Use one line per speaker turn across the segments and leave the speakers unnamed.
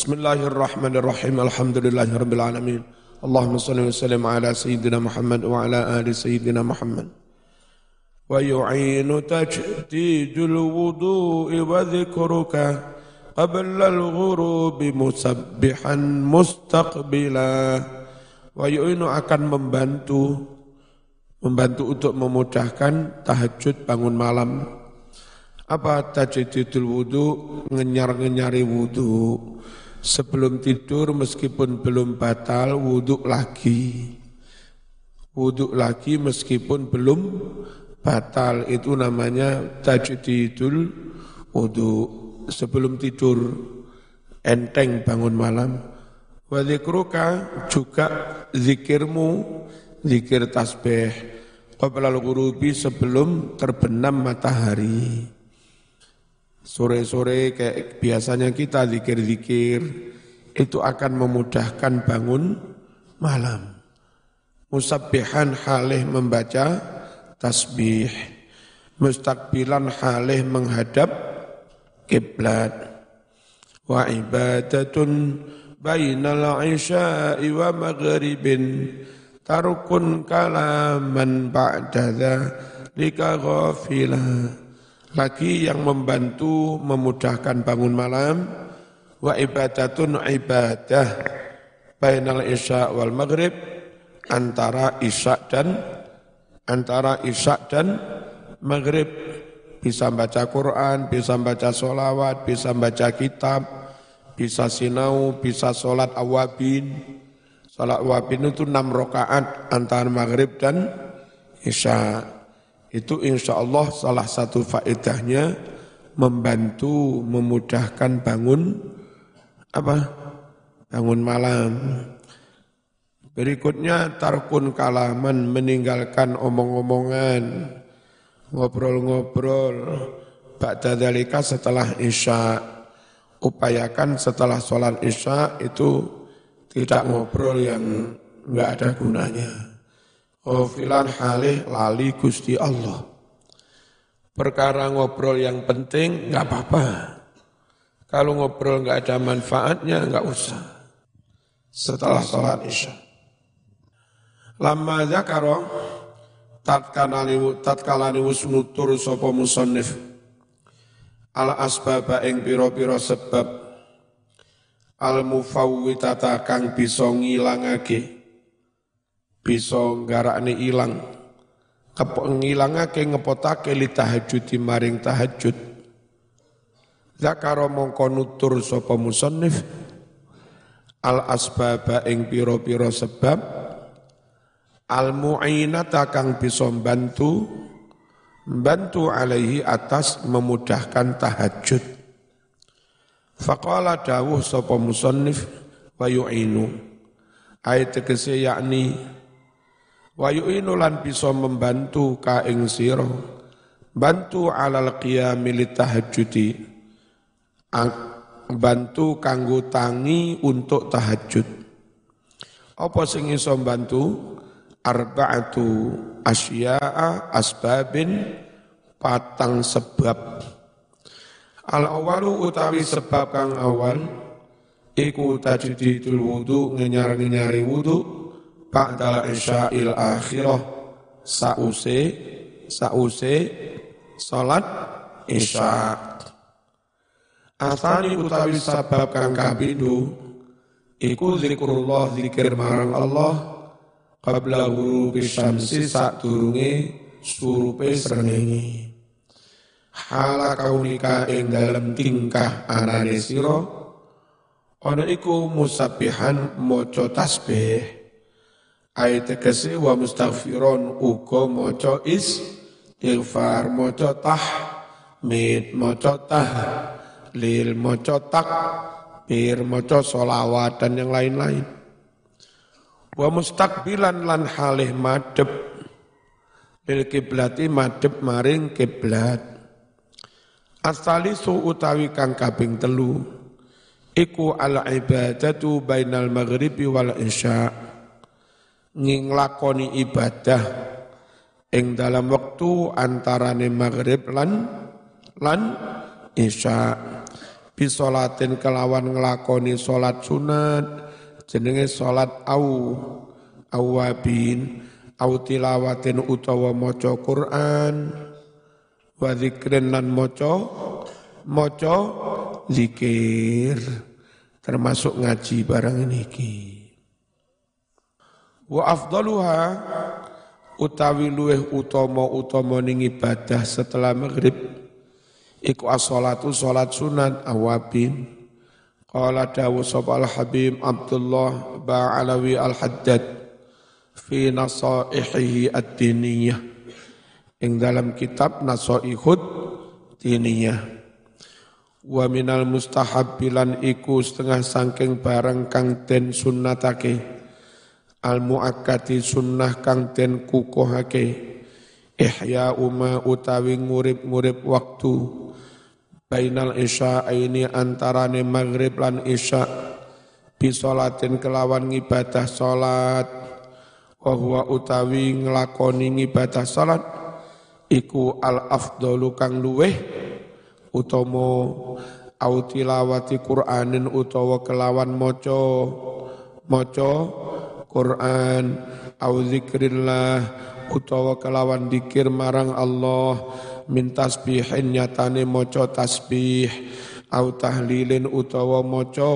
Bismillahirrahmanirrahim. Alhamdulillahirabbil alamin. Allahumma shalli wa sallim ala sayyidina Muhammad wa ala ali sayyidina Muhammad. Wa yu'inu tajdidul wudu'i wa dzikruka qabla al-ghurubi musabbihan mustaqbila. Wa yu'inu akan membantu untuk memudahkan tahajud bangun malam. Apa tajdidul wudu? Ngenyar-ngenyari wudu. Sebelum tidur meskipun belum batal, wudhu lagi. Wudhu lagi meskipun belum batal, itu namanya tajdidul wudhu. Sebelum tidur, enteng bangun malam. Wa dzikruka, juga zikirmu, zikir tasbih. Qabla al-ghurubi, sebelum terbenam matahari. Sore-sore kayak biasanya kita zikir-zikir, itu akan memudahkan bangun malam. Musabbihan halih membaca tasbih, mustaqbilan halih menghadap kiblat. Wa ibadatun bainal isya'i wa maghribin tarukun kalaman ba'da dzalika ghafilah. Lagi yang membantu memudahkan bangun malam. Wa ibadatun ibadah bainal isya wal maghrib, antara isya dan maghrib. Bisa baca Quran, bisa baca sholawat, bisa baca kitab, bisa sinau, bisa sholat awabin. Sholat awabin itu 6 rakaat antara maghrib dan isya. Itu insya Allah salah satu faedahnya membantu memudahkan bangun malam. Berikutnya tarkun kalaman, meninggalkan omong-omongan, ngobrol-ngobrol. Ba'da dzalika, setelah isya. Upayakan setelah sholat isya itu tidak ngobrol yang enggak ada gunanya. Ghafilan halih lali Gusti Allah. Perkara ngobrol yang penting enggak apa-apa. Kalau ngobrol enggak ada manfaatnya enggak usah. Setelah sholat isya. Lamma dzakara, tatkala wis nutur sapa musannif al asbaba ing pira-pira sebab al mufawwitata kang bisa ngilangake, bisa nggarakne ilang, ngilangake ngepotake li tahajud maring tahajud. Zakara mongko nutur sapa musannif al asbaba ing pira-pira sebab al mu'inata kang bisa membantu alaihi atas memudahkan tahajud. Faqala dawuh sapa musannif wa yu'inu, ayat tegese yakni wa yu'inu lan bisa membantu ka ing sira, bantu alal qiyami litahajjudi, bantu kanggo tangi untuk tahajud. Apa sing iso bantu? Arba'atu asya'a asbabin, patang sebab. Al-awalu utawi sebab kang awal iku tajdidul wudu, ngenyar-ngenyari wudu ba'dal isya'il akhirah, sause salat isya. Asani utawi sebab kang kapindho iku zikrullah, zikir marang Allah qabla ghurubi syamsi, sadurunge surupe srengenge. Hala kaunika ing dalem tingkah anane sira ana iku musabbihan, maca tasbih. Ayat tegese wa mustaghfiron, uga maca istighfar, maca tahmid, maca tahlil, maca takbir, maca sholawat dan yang lain-lain. Wa mustaqbilan lan halih madhep bil kiblati, madhep maring kiblat. As-salisu utawi kang kaping 3 iku al ibadatu bainal maghribi wal isya, nglakoni ibadah ing dalam waktu antarane maghrib lan isya. bisolatin kelawan nglakoni salat sunat jenenge salat awabin au tilawatin utawa maca Quran wa dzikrin lan maca zikir termasuk ngaji barang niki. Wa afdaluha utawi luweh utama ning ibadah setelah maghrib iku as-shalatu salat sunat awabin. Qala dawu sapa al-Habib Abdullah Ba'alawi al-Haddad fi nasaihihi ad-diniyah ing dalam kitab Nasaihud Diniyah. Wa minal mustahabbilan iku setengah sangking barang kang den sunnatake al-muakkati sunnah kang den kukuhake ihya uma utawi ngurip-ngurip waktu bainal isya ini antarane maghrib lan isya bisolatin kelawan ngibadah salat wa huwa utawi nglakoni ngibadah salat iku al afdalu kang luweh utama au tilawati Qur'anin utawa kelawan maca Quran au zikrillah utawa kelawan dikir marang Allah min tasbihin nyatane maca tasbih au tahlilin utawa maca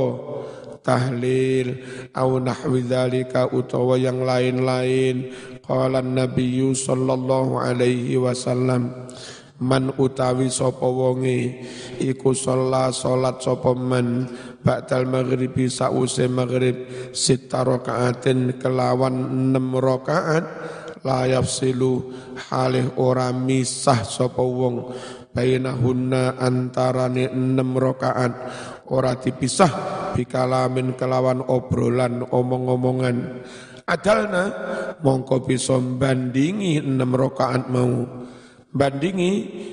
tahlil au nahwi dzalika utawa yang lain-lain. Qala an-nabiyyu sallallahu alaihi wasallam man utawi sapa wonge iku salat sapa man ba'dal maghribi sause maghrib sita rakaatin kelawan 6 rakaat la yafsilu halih ora misah sapa wong bainahunna antarane 6 rakaat ora dipisah bikalamin kelawan obrolan omong-omongan adalna mongko bisa bandingi 6 rakaat mau bandingi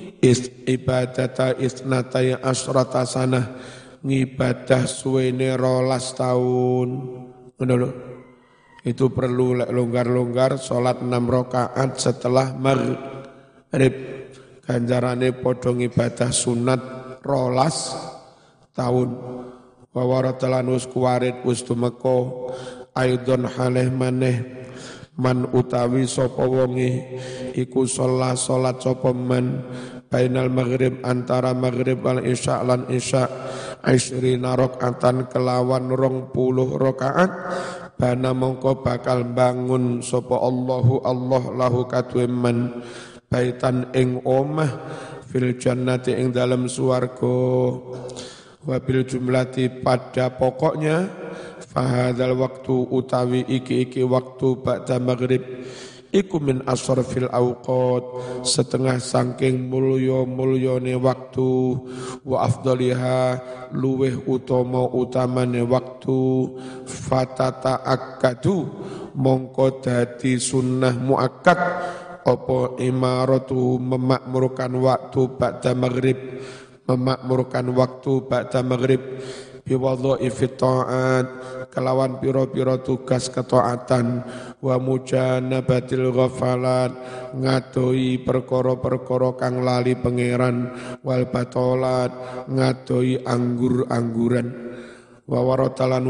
ibadata isnatai asrata sanah ngibadah suwene 12 tahun ngono lho. Itu perlu longgar-longgar salat 6 rakaat setelah maghrib ganjarane padha ngibadah sunat 12 tahun wa waratalan us kuwarit us tumeka aidon halih maneh man utawi sapa wonge iku salat sapa man bainal maghrib antara maghrib wal isya lan isya 20 rakaatan kelawan 20 rakaat bana mongko bakal bangun sapa Allah lahu kadue man baitan ing omah fil jannati ing dalam swarga wa bil jumlati pada pokoknya fahadzal waktu utawi iki waktu ba'da maghrib iku min asrafil awqat setengah saking mulyane waktu wa afdaliha luweh utamane waktu fatata akadu mongko dadi sunnah muakkad apa imaratu memakmurkan waktu ba'da maghrib biwadhaifit ta'at kelawan pira-pira tugas ketaatan wa mujanabatil ghafalat ngadoi perkara-perkara kang lali pangeran wal batolat ngadoi anggur-angguran wa waratalan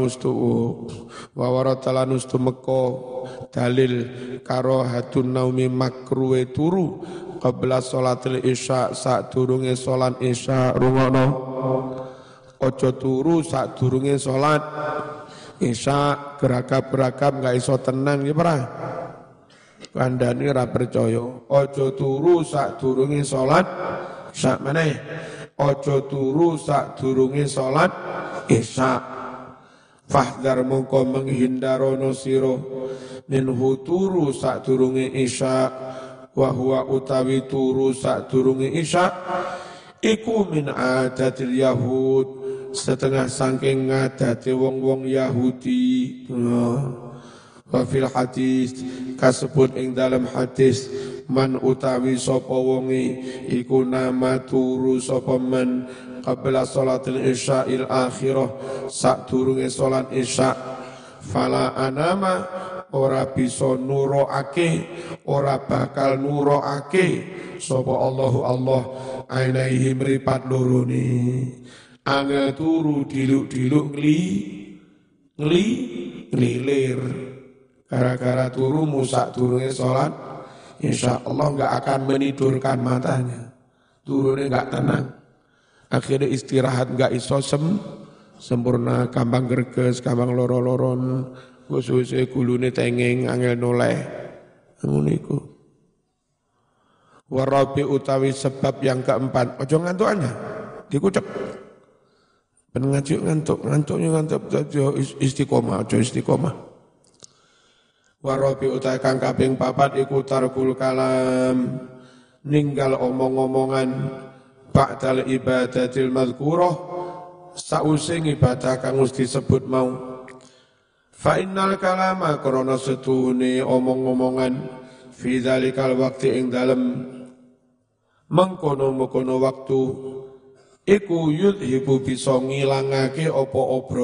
ustu meko dalil karahatun naumi makruhe turu qabla sholatil isya sadurunge salat isya rungono ojo turu sadurunge salat isya geragap-geragap gak iso tenang ya pra kandhane ra percaya ojo turu sadurunge salat isya meneh ojo turu sadurunge salat isya fahdar mongko menghindarono sira minhu turu sadurunge isya wa huwa utawi turu sadurunge isya iku min adatil yahud setengah saking ngadate wong-wong Yahudi. Wa fil hadis kasebut ing dalam hadis man utawi sapa wonge iku nama turu sapa man qabla salatil isya'il akhirah sadurunge salat isya fala anama ora bisa nuroake ora bakal nuroake sapa Allah ainaihi mripat loro ni angel turu diluk-diluk ngelilir. Gara-gara turu musak turunnya sholat, insya Allah enggak akan menidurkan matanya. Turunnya enggak tenang. Akhirnya istirahat enggak iso sempurna, gampang gerges, gampang loro-loron, suwe-suwe gulune tengeng, angel noleh. Ngono. Warabi utawi sebab yang keempat, ojo ngantuknya, dikucek. Ben ngantuknya ojo istiqomah, ojo istiqomah. Warabi utawi kang kaping papat iku tarkul kalam, ninggal omong-omongan ba'dal ibadatil madhkurah, sausing ibadah kang wis disebut mau. Fa innal kalama krana setuhune omong-omongan fi dzalikal waqti ing dalem mengkono-mengkono waktu iku yudhibu bisa ngilangake apa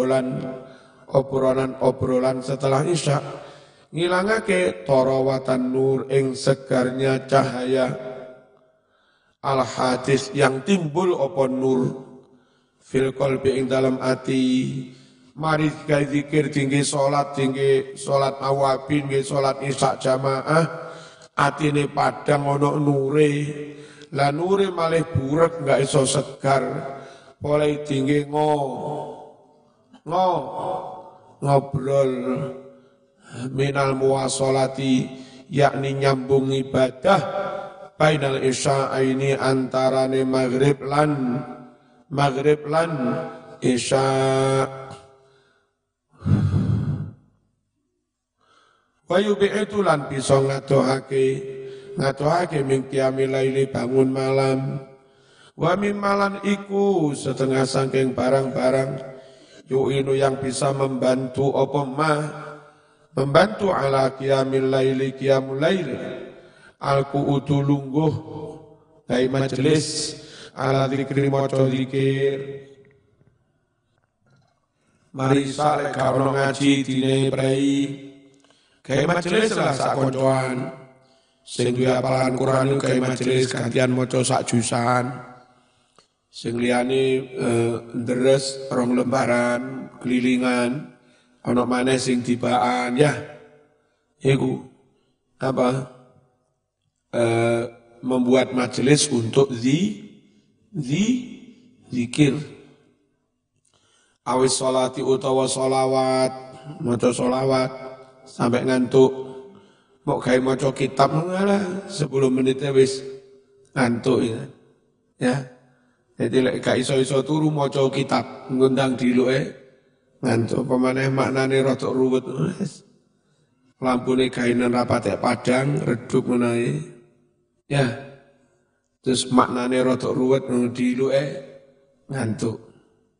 obrolan setelah isya, ngilangake tarawatan nur ing segarnya cahaya al hadis yang timbul apa nur fil qalbi ing dalam ati. Mari gawe zikir tinggi salat awabin nggih salat isya jamaah, atine padang ana nure. Lah nure malih burek enggak iso segar. Oleh tinggi ngobrol minal muwasolati, yakni nyambung ibadah bainal isya'aini antarane maghrib lan isya'. Wa yubi'tu lan bisa ngadohake min qiyamil laili bangun malam. Wa mimmalan iku setengah saking barang-barang yu'inu yang bisa membantu membantu ala qiyamil laili qiyamul laili al-qu'udu lungguh gawe majelis ala zikri maca zikir. Mari saleh karo ngaji dine prei gawe majelis lah sak koncoan sing duwe hafalan Quran gawe majelis gantian maca sak jusan, sing liyane ndres rong lembaran kelilingan, ana maneh sing tibaan ya iku membuat majelis untuk zikir. Awis sholati utawa sholawat, maca sholawat sampai ngantuk. Mau gawe maca kitab ngalah 10 menitnya wis ngantuk ya. Jadi lek gak iso-iso turu maca kitab ngundang diluke ngantuk. Pemaneh maknane rada ruwet. Lampune gaenan rapatek padang redup menawi. Ya. Terus maknane rada ruwet diluke ngantuk.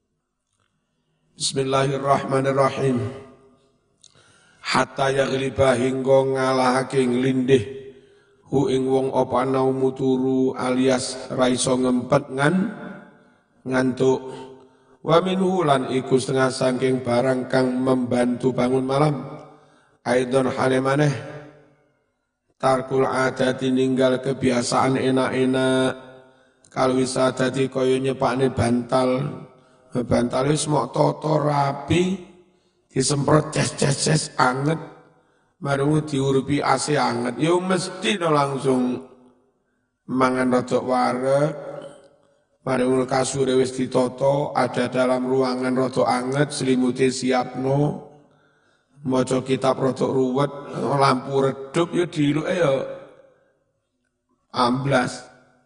Bismillahirrahmanirrahim. Hatta yaghliba hingga ngalahake nglindih hu ing wong apa naumu turu alias ra iso ngempet ngantuk. Wa minhu lan iku setengah saking barang kang membantu bangun malam. Aidon hale maneh tarkul adati ninggal kebiasaan enak-enak kalau bisa dadi kaya nyepakne bantal wis mok toto rapi disemprot ces anget baru diurupi AC anget ya mesti langsung mangan rada wareg baru kasure wis ditoto ada dalam ruangan rada anget selimute siapno maca kitab rada ruwet lampu redup ya diluke ya amblas.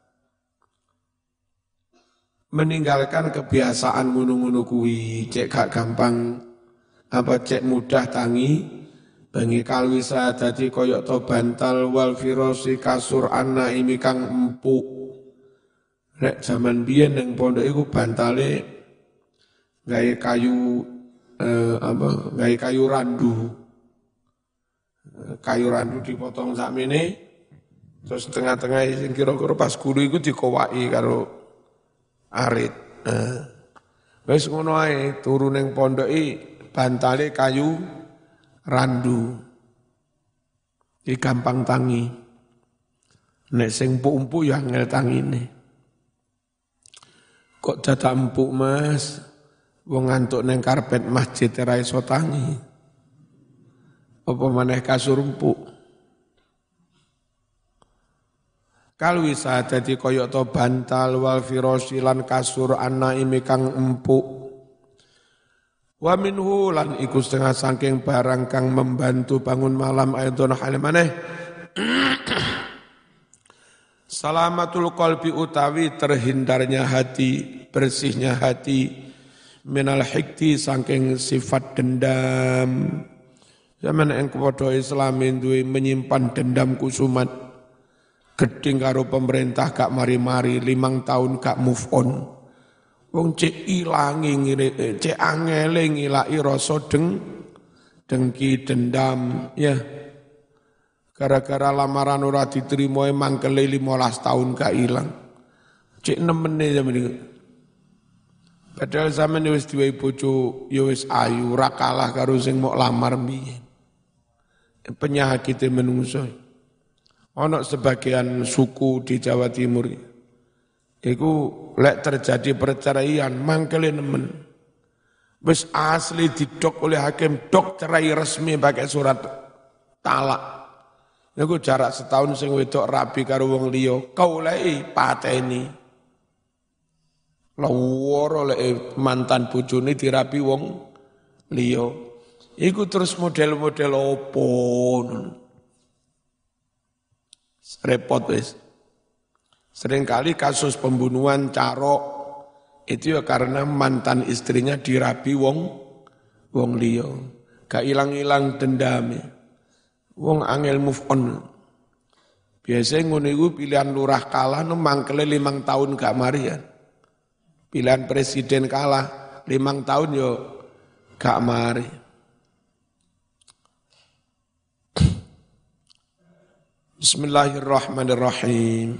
Meninggalkan kebiasaan ngunu-ngunu kuwi cek gak gampang cek mudah tangi bengi kalwisa dadi koyok to bantal wal firosi kasur annaimi kang empuk. Rek zaman biyen ning pondok iku bantale gawe kayu gawe kayu randu. Kayu randu dipotong sakmene terus tengah-tengah sing kira-kira pas gulu iku dikowaki karo arit. Wis ngono ae turu ning pondoki bantale kayu randu. Iki gampang tangi. Nek sing empuk-empuk ya angel tangine. Kok dadak empuk Mas? Wong ngantuk neng karpet masjid ra iso tangi. Apa maneh kasur empuk? Kal wisa dadi kaya to bantal wal firasyi lan kasur anaime kang empuk. Wa minhu lan iku setengah saking barang kang membantu bangun malam aidon hal maneh. Salamatul qalbi utawi terhindarnya hati, bersihnya hati minal hikti saking sifat dendam. Zaman yang kepada Islam duwe menyimpan dendam kusumat. Geding karo pemerintah gak mari-mari 5 tahun gak move on. Wong cek ilangi cek angele ngilaki rasa dengki dendam ya. Gara-gara lamaran ora diterima mangkele 15 tahun gak ilang. Cek nemene zaman iki. Padahal zaman wis duwe bojo ya wis ayu, ora kalah karo sing mok lamar mbiyen. Penyakit menungso. Ana sebagian suku di Jawa Timur. Iku lek terjadi perceraian mangkele nemen. Wis asli didok oleh hakim, dok cerai resmi pakai surat talak. Niku jarak setahun sing wedok rabi karo wong liya, kaulai pateni. Laworo lek mantan bojone dirabi wong liya. Iku terus model-model opo. Repot wis. Seringkali kasus pembunuhan carok itu ya karena mantan istrinya dirabi wong liya. Gak ilang-ilang dendamnya. Wong angel move on. Biasanya ngono iku pilihan lurah kalah mangkele 5 tahun gak marian. Pilihan presiden kalah 5 tahun yo gak mari. Bismillahirrahmanirrahim.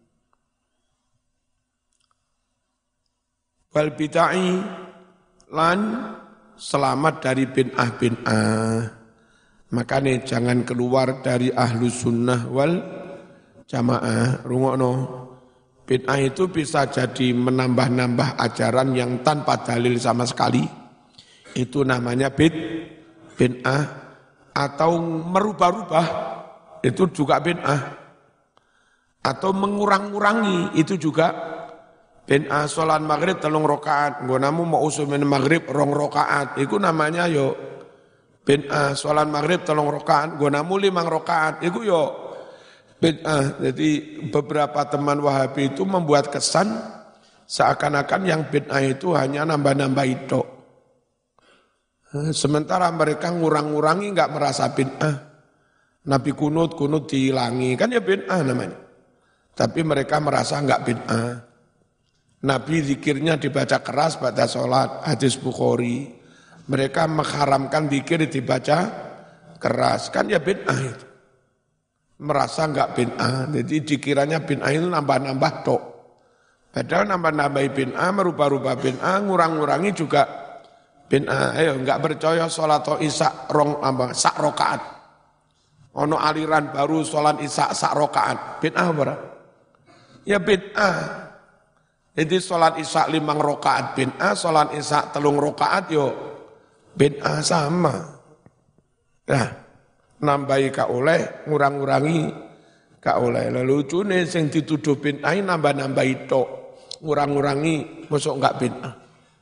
Wal bid'ah lan selamat dari bid'ah. Makanya jangan keluar dari ahlus sunnah wal jamaah. Rungokno, bid'ah itu bisa jadi menambah-nambah ajaran yang tanpa dalil sama sekali. Itu namanya bid'ah. Atau merubah-rubah, itu juga bid'ah. Atau mengurang-urangi, itu juga bid'ah. Sholat maghrib 3 rakaat, nggonamu mau usumin maghrib 2 rakaat, itu namanya yo bid'ah. Sholat maghrib 3 rakaat, nggonamu 5 rakaat, itu yo bid'ah. Jadi beberapa teman Wahabi itu membuat kesan seakan-akan yang bid'ah itu hanya nambah-nambah itu. Sementara mereka ngurang-ngurangi enggak merasa bid'ah. Nabi kunut dihilangi, kan ya bid'ah namanya. Tapi mereka merasa enggak bid'ah. Nabi zikirnya dibaca keras pada sholat, hadis Bukhari. Mereka mengharamkan zikir dibaca keras, kan ya bid'ah itu. Merasa enggak bid'ah, jadi dikiranya bid'ah itu nambah-nambah tok. Padahal nambah-nambah bid'ah, merubah-rubah bid'ah, ngurang-ngurangi juga bid'ah. Ayo enggak percaya sholat isya sak rakaat. Ono aliran baru sholat isya sak rakaat. Bid'ah apa? Ya bid'ah. Jadi sholat isya 5 rakaat bid'ah, sholat isya 3 rakaat yo bid'ah sama. Nah, nambahi ka oleh, ngurang-ngurangi ka oleh. Lalu lucune sing dituduh bid'ah nambah-nambahi tok, ngurang-ngurangi mosok enggak bid'ah.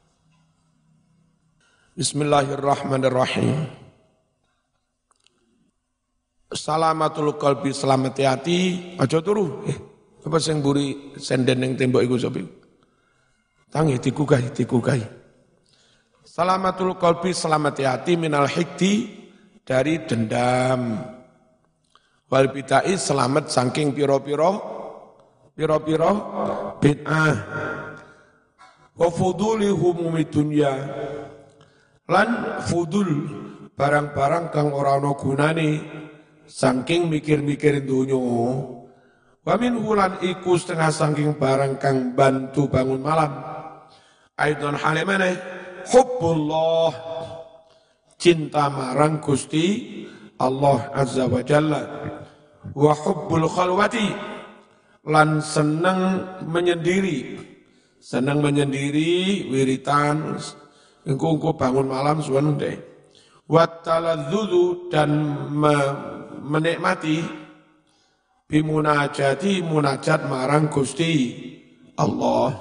Bismillahirrahmanirrahim. Salamatul qalbi, selamat hati, aja turu. Apa sing mburi senden ning tembok iku sapa? Tangi dikugai. Salamatul qalbi, selamat hati minal hikti, dari dendam. Wal bid'ah, selamat saking piro-piro bid'ah. Wa fuduli humumi dunya, lan fudul barang-barang kang ora ana gunane saking mikir-mikir dunya. Wa min hulan iku setengah saking barang kang bantu bangun malam. Aidon halimane hubbullah, cinta marang Gusti Allah Azza wa Jalla. Wa hubbul khalwati, lan seneng menyendiri, senang menyendiri, wiritan, engko bangun malam suwen deh. Wat taladzudu dan menikmati bimunajati munajat marang Gusti Allah.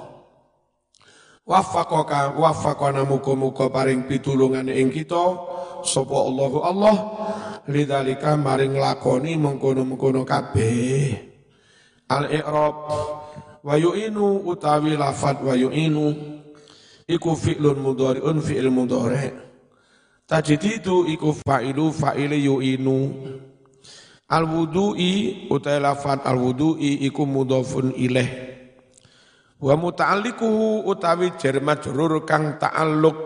Waffaqana muga-muga paring pitulungan ing kita sapa Allahu Allah lidzalika maring lakoni mengkono-mengkono kabeh. Al-i'rab wa yu'inu utawi lafat wa yu'inu iku fi'lun mudhari'un fi'il mudhari'. Tajdidu iku fa'ili yu'inu. Al-wudu'i utawi lafat al-wudu'i iku mudhafun ilaih. Wa muta'alliquhu utawi jar majrur kang ta'alluq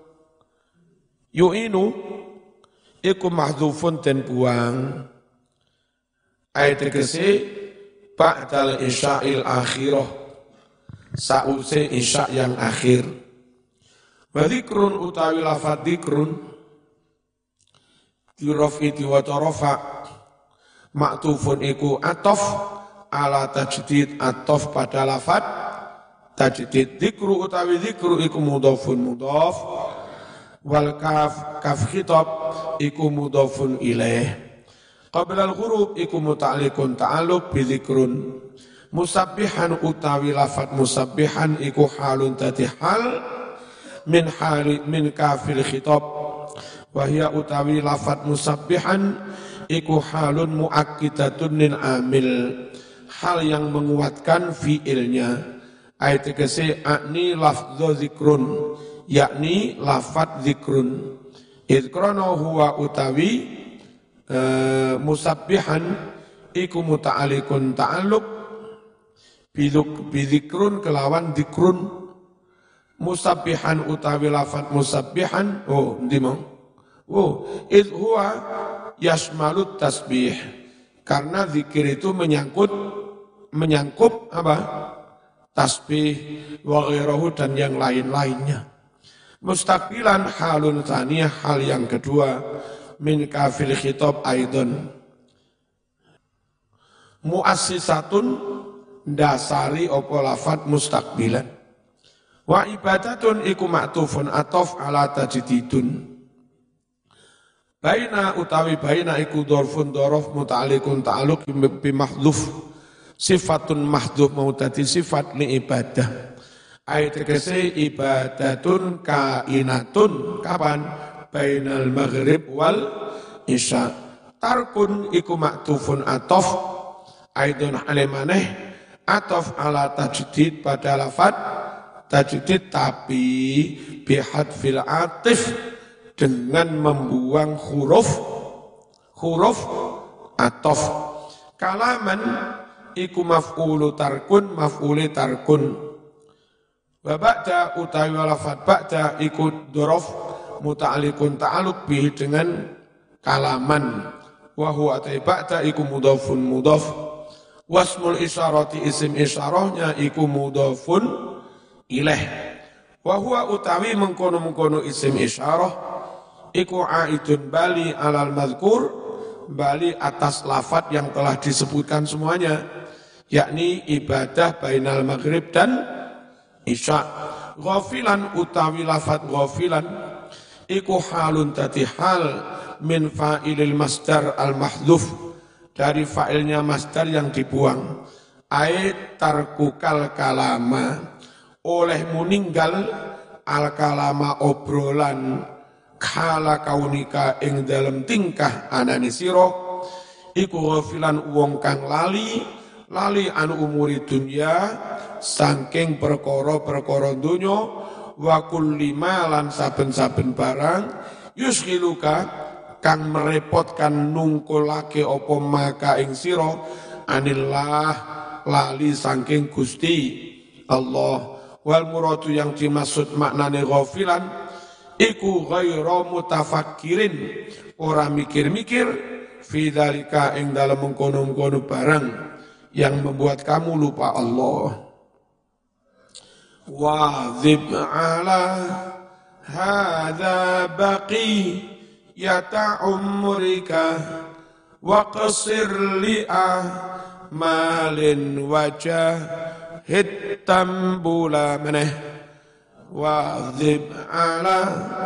yu'inu iku mahdzufun den buang ayat tegese ba'dal isya'il akhirah sause isya' yang akhir. Wa dzikrun utawi lafadz dzikrun dirofi diwaca rafa maktufun iku atof ala tajdid atof pada lafadz tajdid. Dzikru utawi dzikru iku mudhafun mudhaf wal kaf khitab iku mudhafun ilaih. Qabla al-ghurub iku muta'alliqun ta'alluq bi dzikrun. Musabbihan utawi lafat musabbihan iku halun tati hal min kafil khitab. Wa hiya utawi lafat musabbihan iku halun muakkidatun lil amil, hal yang menguatkan fiilnya. Ayat tegese akni lafdhu zikrun, yakni lafat zikrun. Idkrono huwa utawi musabbihan iku muta'alikun ta'aluk bidzikrun kelawan zikrun. Musabbihan utawi lafat musabbihan id huwa yashmalut tasbih, karena zikir itu menyangkup apa? Tasbih wa ghairahu dan yang lain-lainnya. Mustaqbilan halun tsaniyah, hal yang kedua min kafil khitab aidon. Muassisatun dasari apa lafat mustaqbilan. Wa ibadatun iku ma'tufun atof ala tajdidun. Baina utawi baina iku dzarfun dzaraf muta'alliqun ta'alluq bi mahdhuf. Sifatun mahdhuf mau dadi sifat li ibadah. Ayat tegese ibadatun kainatun kapan? Bainal maghrib wal isya. Tarkun iku maktufun atof aidun alimaneh atof ala tajdid pada lafad tajdid tapi bihadfil atif dengan membuang huruf atof. Kalaman iku maf'ulu tarkun maf'uli tarkun. Wa ba'da utawi lafadz ba'da iku dzaraf muta'alliqun ta'alluq bihi dengan kalaman. Wa huwa ba'da iku mudhafun mudhaf. Wasmul isyarati isim isyarahnya iku mudhafun ilaih. Wa huwa utawi mengkono-mengkono isim isyarah iku aidun bali alal madhkur, bali atas lafadz yang telah disebutkan semuanya, yakni ibadah bainal maghrib dan isya. Ghafilan utawi lafadz ghafilan iku halun tati hal min fa'ilil masdar al mahdhuf, dari fa'ilnya masdar yang dibuang. Ayat tarkukal kalama, olehmu ninggal al kalama obrolan kala kaunika ing dalam tingkah anani sira iku ghafilan wong kang lali anu umuri dunya saking perkara-perkara donya wa kulli malan saben-saben barang yusghiluka kang merepotkan nungkulake apa maka ing sira anillah lali saking Gusti Allah. Wal muradu yang dimaksud maknane ghafilan iku ghairu mutafakkirin, ora mikir-mikir fi dzalika ing dalem mengkono-mengkono barang yang membuat kamu lupa Allah. Wa'dzib ala hadza baqi yata umrika wa qasir li malin wajah hitam bula meneh wa'dzib ala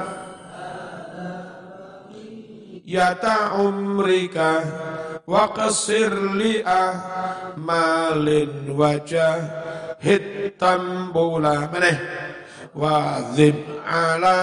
yata umrika wa qasir li'ah malin wajah hitam bula meneh wa'dzib ala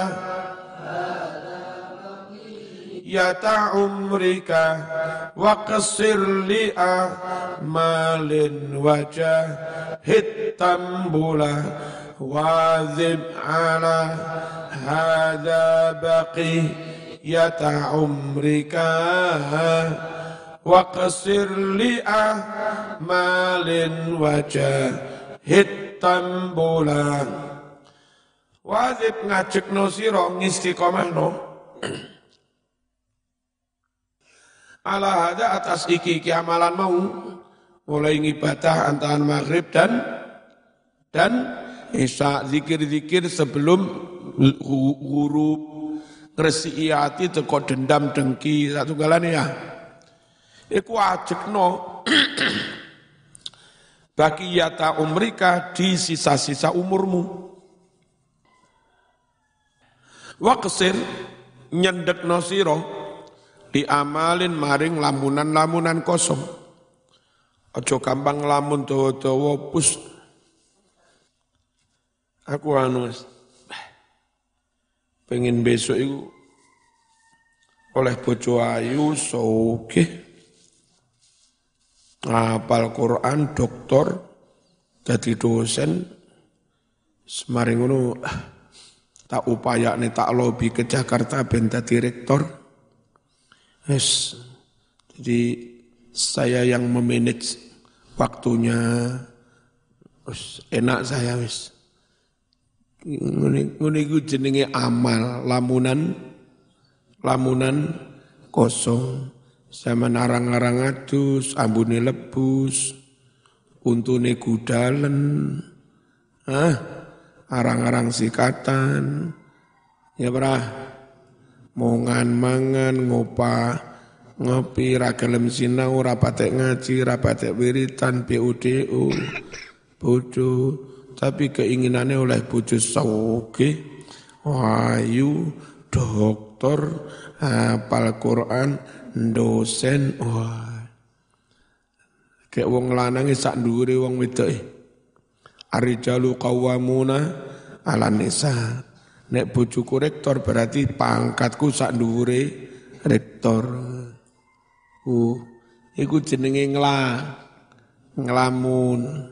yata umrika wa qasir li'ah malin wajah hitam bula wa'dzib ala hadha baqi yata umrika waqsir li'ah malin wajah hitam bulan wajib ngajekno sira ngistiqomahno ala hada atas iki amalan mau mulai ngibadah antara maghrib dan isya zikir-zikir sebelum ghurub ngresi ati teko dendam dengki satu galane ya iku ajekno baqiyata umrika di sisa-sisa umurmu waqsir nyendekno sira diamalin maring lamunan-lamunan kosong aja gampang lamun dawa-dawa pus aku pengen besok itu oleh bojo ayu sugih ngapal Quran doktor jadi dosen semaring ngono tak upayane tak lobi ke Jakarta ben dadi rektor yes jadi saya yang memanage waktunya enak saya wis ngene iku jenenge amal lamunan kosong zaman arang-arang adus ambune lebus untune gudalen arang-arang sikatan ya brah mongan mangan ngopi ra gelem sinau ra patek ngaji ra patek wiritan BUDU bojo tapi keinginannya oleh bojo sugih ayu doktor hafal Quran dosen wah kayak wong lanang sak ndure wong wedoke arijalu qawwamuna 'alan nisa nek bojoku rektor berarti pangkatku sak ndure rektor iku jenenge nglamun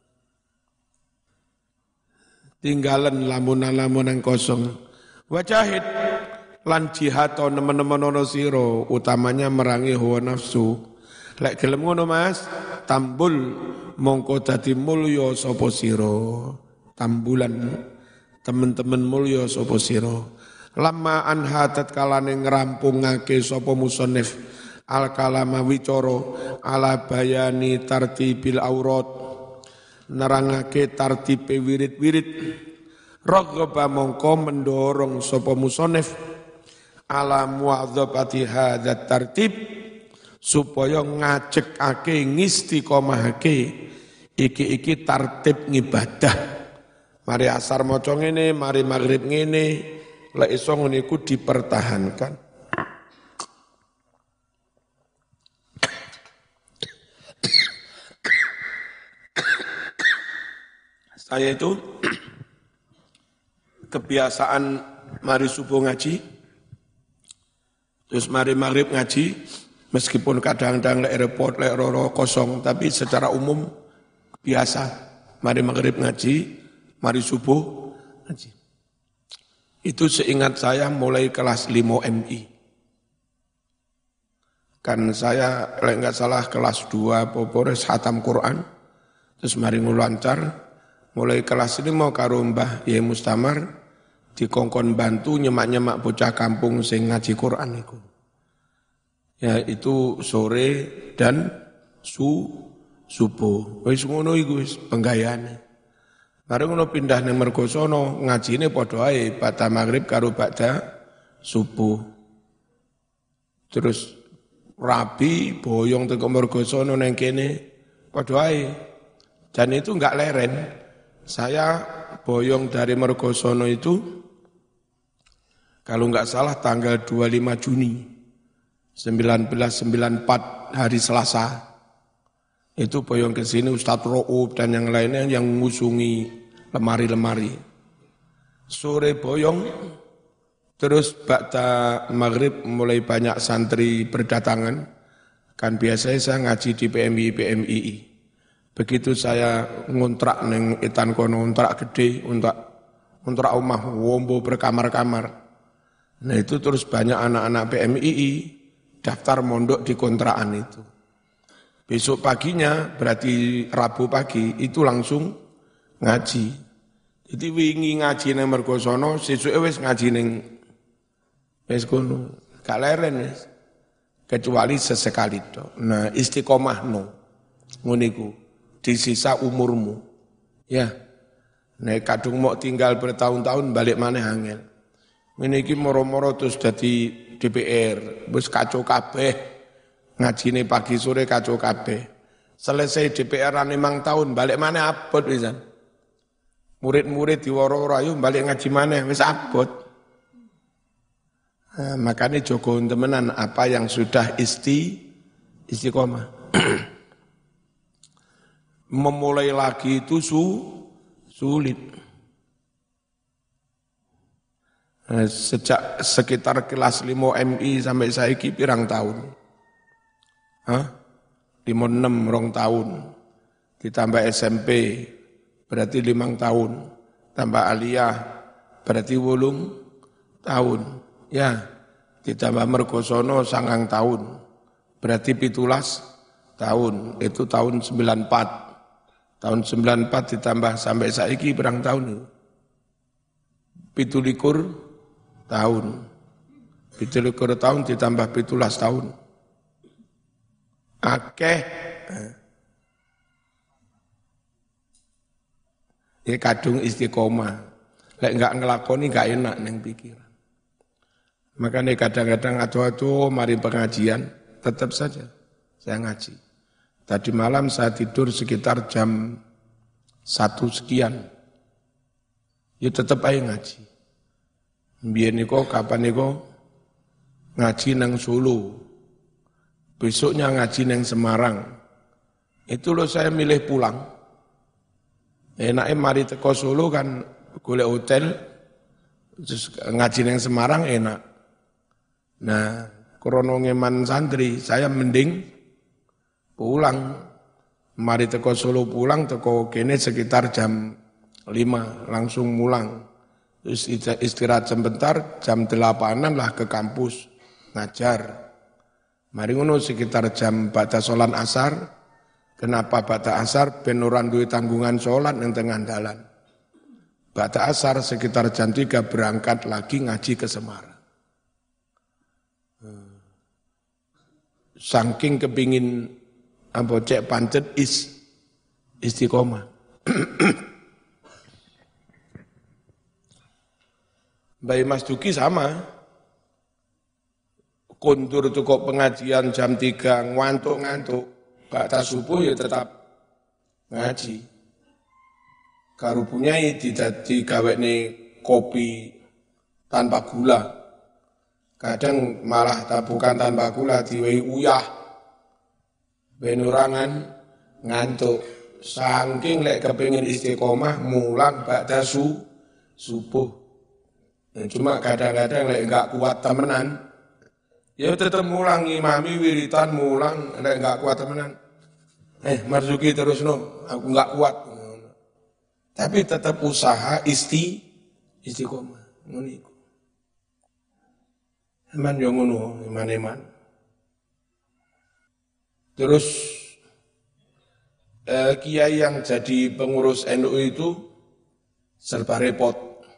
tinggalan lamunan-lamunan kosong wajahid lan jihad nemen-nemen ana sira utamanya merangi hawa nafsu lek gelem ngono Mas tambul mongko dadi mulya sapa sira tambulan temen-temen mulya sapa sira lamma anha tatkalane ngrampungake sapa musannif al kalama wicara ala bayani tartibil aurat nerangake tartipe wirid-wirid raghaba mongko mendorong sapa musannif ala muadzabati hadzat tartib supaya ngajekake ngistiqomahake iki tartib ngibadah mari asar maca ngene mari maghrib ngene lek iso ngene iku dipertahankan. Saya itu kebiasaan mari subuh ngaji, terus mari maghrib ngaji, meskipun kadang-kadang lek repot, lek roro kosong, tapi secara umum biasa mari maghrib ngaji, mari subuh ngaji. Itu seingat saya mulai kelas 5 MI. Kan saya lek enggak salah kelas 2 popores hatam Quran, terus mari ngulancar. Mulai kelas ini mau karo Mbah Yai Mustamar dikongkon bantu nyemak-nyemak bocah kampung sing ngaji Quran iku. Ya itu sore dan subuh. Wis ngono iku wis penggayane. Mari ngono pindah nang Mergosono ngajine padha ae bada maghrib karo bada subuh. Terus rabi boyong teko Mergosono nang kene padha ae. Dan itu enggak leren. Saya boyong dari Mergosono itu, kalau enggak salah tanggal 25 Juni 1994 hari Selasa. Itu boyong ke sini Ustadz Ro'ub dan yang lainnya yang ngusungi lemari-lemari. Sore boyong, terus bakta maghrib mulai banyak santri berdatangan. Kan biasanya saya ngaji di PMI. Begitu saya ngontrak neng Etan kono, ngontrak gede, ngontrak omah, wombo berkamar-kamar. Nah itu terus banyak anak-anak PMI daftar mondok di kontrakan itu. Besok paginya, berarti Rabu pagi, itu langsung ngaji. Jadi wingi ngaji neng Mergosono, sesuke wis ngaji neng wis kono. Gak leren wis. Kecuali sesekali to. Nah, istiqomah no. Nguniku di sisa umurmu. Ya. Nek kadung mau tinggal bertahun-tahun balik maneh angel. Meniki moro-moro terus dadi DPR, wis kacau kabeh. Ngajine pagi sore kacau kabeh. Selesai DPR-an 5 tahun balik maneh abot pisan. Murid-murid diworo-woro ayo balik ngaji maneh wis abot. Nah, makanya Joko temenan apa yang sudah istiqomah. Memulai lagi itu sulit. Nah, sejak sekitar kelas 5 MI sampai saiki pirang tahun. 5-6 tahun. Ditambah SMP berarti 5 tahun. Tambah aliyah berarti 8 tahun. Ya, ditambah Mergosono 9 tahun, berarti 17 tahun, itu tahun 94. Tahun 94 ditambah sampai saiki berang tahun? 17 tahun. 17 tahun ditambah 17 tahun. Akeh. Ya kadung istiqomah. Lek enggak ngelakoni enggak enak neng pikiran. Makanya kadang-kadang adu-adu mari pengajian, tetap saja saya ngaji. Tadi malam saya tidur sekitar jam 1 sekian. Ya tetap aja ngaji. Biar niko kapan niko ngaji nang Solo. Besoknya ngaji nang Semarang. Itu loh saya milih pulang. Enaknya mari teko Solo kan golek hotel, terus ngaji nang Semarang enak. Nah, krono ngeman santri, saya mending pulang. Mari teko Solo pulang, teko kene sekitar jam 5, langsung mulang. Terus istirahat sebentar, jam 8-an lah ke kampus, ngajar. Mari ngono sekitar jam bata sholat asar. Kenapa bata asar? Ben ora duwe tanggungan sholat yang tengah dalan. Bata asar sekitar jam 3 berangkat lagi ngaji ke Semarang. Saking kepingin cek pancet istiqomah. Mbak Mas Duki sama. Kondur itu kok pengajian jam 3 ngantuk-ngantuk. Bakta subuh ya tetap ngaji. Karupunya didadi gawekne kopi tanpa gula. Kadang malah bukan tanpa gula, diwehi uyah. Benurangan ngantuk. Saking lek kepingin istiqomah, mulang bakda subuh. Ya, cuma kadang-kadang lek enggak kuat temenan, ya tetap mulang, imami wiritan mulang, lek enggak kuat temenan. Marzuki terus no, aku enggak kuat. Tapi tetap usaha istiqomah. Ngono. Eman yo ngono, iman. Terus kiai yang jadi pengurus NU itu serba repot.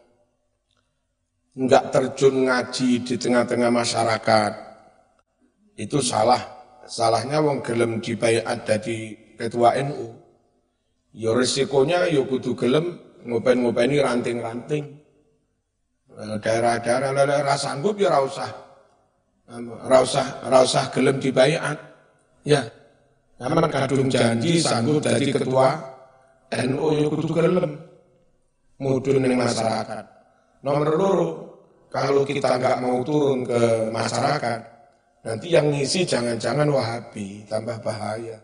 Enggak terjun ngaji di tengah-tengah masyarakat. Itu salah. Salahnya wong gelem dibaiat dadi ketua NU. Ya resikonya ya kudu gelem ngopen-ngopeni ranting-ranting. Daerah-daerah lele rasa sanggup ya ra usah gelem dibaiat. Ya. Namun kadung janji sanggup jadi ketua NU ya kudu gelem mudhun ning masyarakat. Nomor loro, kalau kita enggak mau turun ke masyarakat, nanti yang ngisi jangan-jangan Wahabi, tambah bahaya.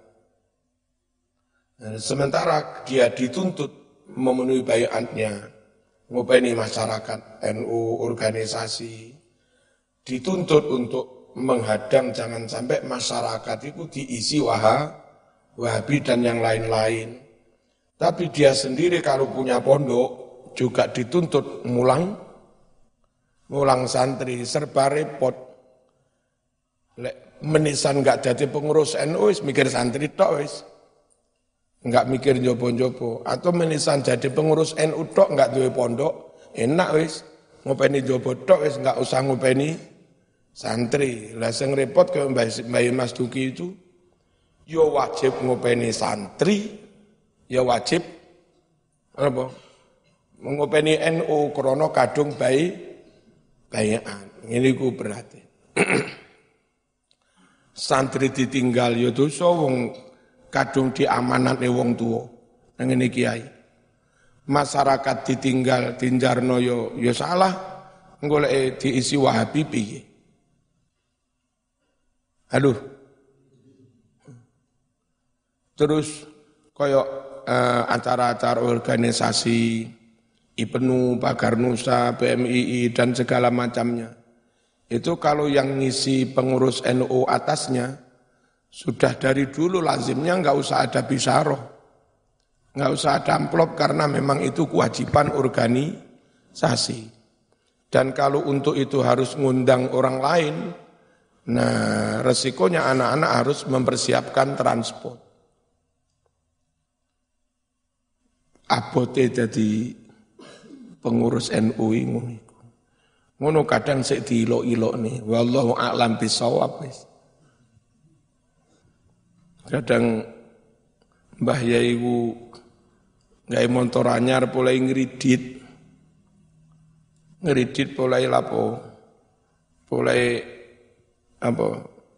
Sementara dia dituntut memenuhi baiatnya, ngopeni masyarakat, NU, organisasi, dituntut untuk menghadang jangan sampai masyarakat itu diisi Wahabi dan yang lain-lain. Tapi dia sendiri kalau punya pondok juga dituntut mulang santri, serba repot. Menisan enggak jadi pengurus NU, mikir santri tok wis. Enggak mikir jopo-jopo. Atau menisan jadi pengurus NU tok enggak duwe pondok, enak wis. Ngopeni jopo tok wis enggak usah ngopeni santri. Lah sing repot ke Mbah Mas Duki itu yo wajib ngopeni santri, ya wajib apa? Ngopeni NU krana kadung baian. Ngene iku berarti. Santri ditinggal ya dosa wong kadung diamanatne wong tuwa. Nang ngene kiai. Masyarakat ditinggal tinjarno ya salah. Goleke diisi Wahabi piye? Aduh. Terus koyok acara-acara organisasi IPNU, Pagar Nusa, PMII dan segala macamnya. Itu kalau yang ngisi pengurus NU atasnya sudah dari dulu lazimnya enggak usah ada bisaroh. Enggak usah ada amplop karena memang itu kewajiban organisasi. Dan kalau untuk itu harus ngundang orang lain, nah resikonya anak-anak harus mempersiapkan transport. Abote jadi pengurus NU ngono kadang sik diilok-ilok nih wallahu a'lam bisawab wis. Kadang Mbah Yai ku gawe motor anyar mulai ngridit mulai lapo mulai apa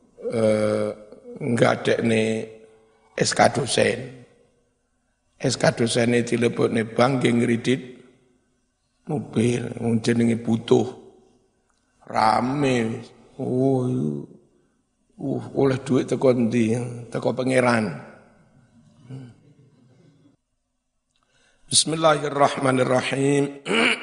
ngadekne SK dosen. SK dosene dilebokne bank nggih ngridit mobil jenenge butuh rame oleh duit teko ndi teko pangeran. Bismillahirrahmanirrahim.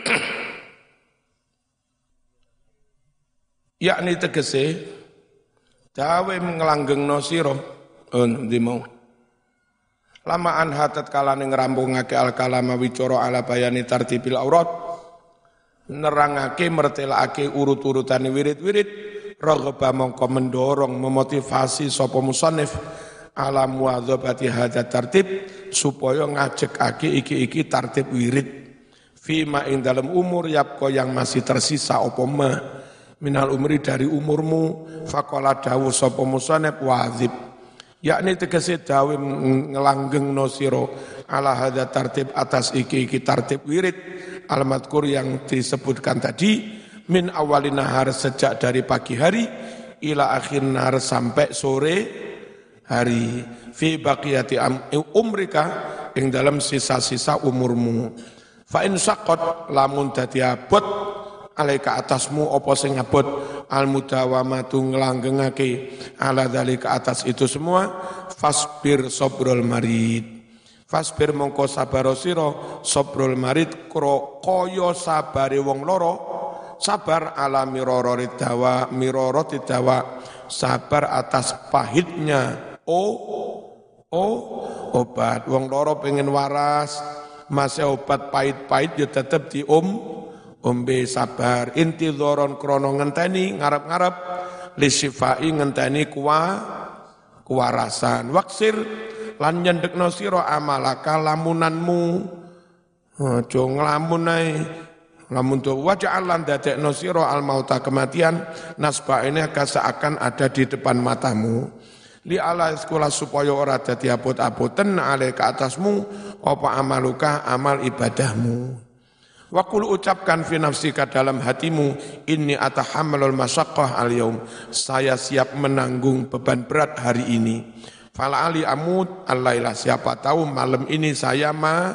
Yakni tegese dawe nglanggengno sira ndi mau lama anha tatkala ngrampungake al-kalama wicara ala bayani tartibil aurat nerangake mertelake urut-urutane wirid-wirid raghaba mongko mendorong memotivasi sapa musannif ala muwadzabati hadza tartib supaya ngajekake iki tartib wirid fima ing dalam umur yapko yang masih tersisa apa minal umri dari umurmu faqala dawu sapa musannif wadzib yakni tegese dawe ngelanggengno sira ala hadza tartib atas iki tartib wirid al-madkur yang disebutkan tadi min awalin nahar sejak dari pagi hari ila akhir nahar sampai sore hari fi baqiyati umrika ing dalam sisa-sisa umurmu fa in saqat lamun dadi abot alaika atasmu apa sing abot al mudawamatu nglanggengake ala dzalika atas itu semua fasbir sabrul marid fasbir mongko sabar sira sabrul marid kaya sabare wong loro sabar ala miroroti dawa sabar atas pahitnya obat wong loro pengen waras masih obat pahit-pahit ya tetep ombe sabar intidhoron krono ngenteni ngarep-ngarep lisifai ngenteni kuwarasan waksir lan nyendekno sira amalaka lamunanmu aja nglamun ae lamun tu waja'al lan dadekno sira al mauta kematian nasba ini seakan ada di depan matamu li ala sekolah supaya ora dadi abot-aboten ale ke atasmu apa amaluka amal ibadahmu. Wa qul ucapkan fi nafsika dalam hatimu inni atahammalul masyaqqah al yaum saya siap menanggung beban berat hari ini Fala ali amut allailah, siapa tahu malam ini saya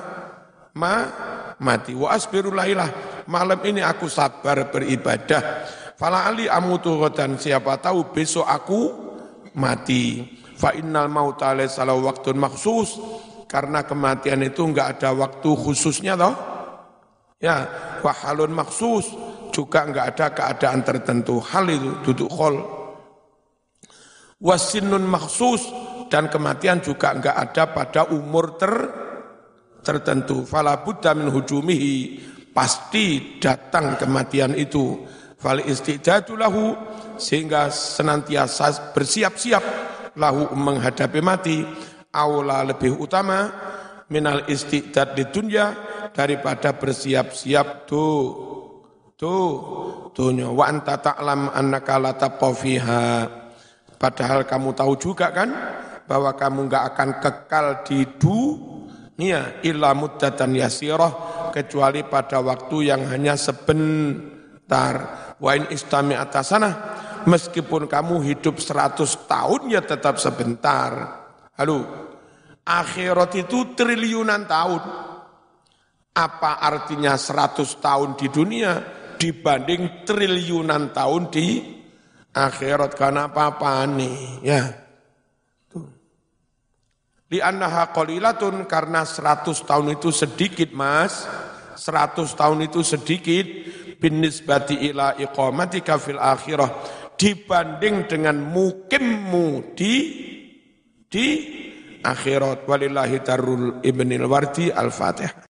mati. Wa asbiru lailah, malam ini aku sabar beribadah. Fala ali amutu ghadan, siapa tahu besok aku mati. Fa innal mauta laysa lahu waqtun makhsus, karena kematian itu enggak ada waktu khususnya toh. Ya, wa halun makhsus, juga enggak ada keadaan tertentu. Hal itu duduk khol. Wasinnun makhsus, dan kematian juga enggak ada pada umur tertentu. Fala budda min hujumihi, pasti datang kematian itu. Fal istidadu lahu, sehingga senantiasa bersiap-siap lahu menghadapi mati. Aula lebih utama minal istidad di dunya, daripada bersiap-siap dunya. Wa anta ta'lam annaka la tabqa fiha, padahal kamu tahu juga kan bahwa kamu enggak akan kekal di dunia illa muddatan yasirah, kecuali pada waktu yang hanya sebentar. Wa in istami atasana, meskipun kamu hidup 100 tahun ya tetap sebentar. Halo, akhirat itu triliunan tahun. Apa artinya 100 tahun di dunia dibanding triliunan tahun di akhirat? Karena apa nih ya. Li'annaha qalilatun, karena 100 tahun itu sedikit mas, 100 tahun itu sedikit, binisbati ila iqamatika fil akhirah, dibanding dengan mukimmu di akhirat. Walillahi darul ibnil wardi al-fatihah.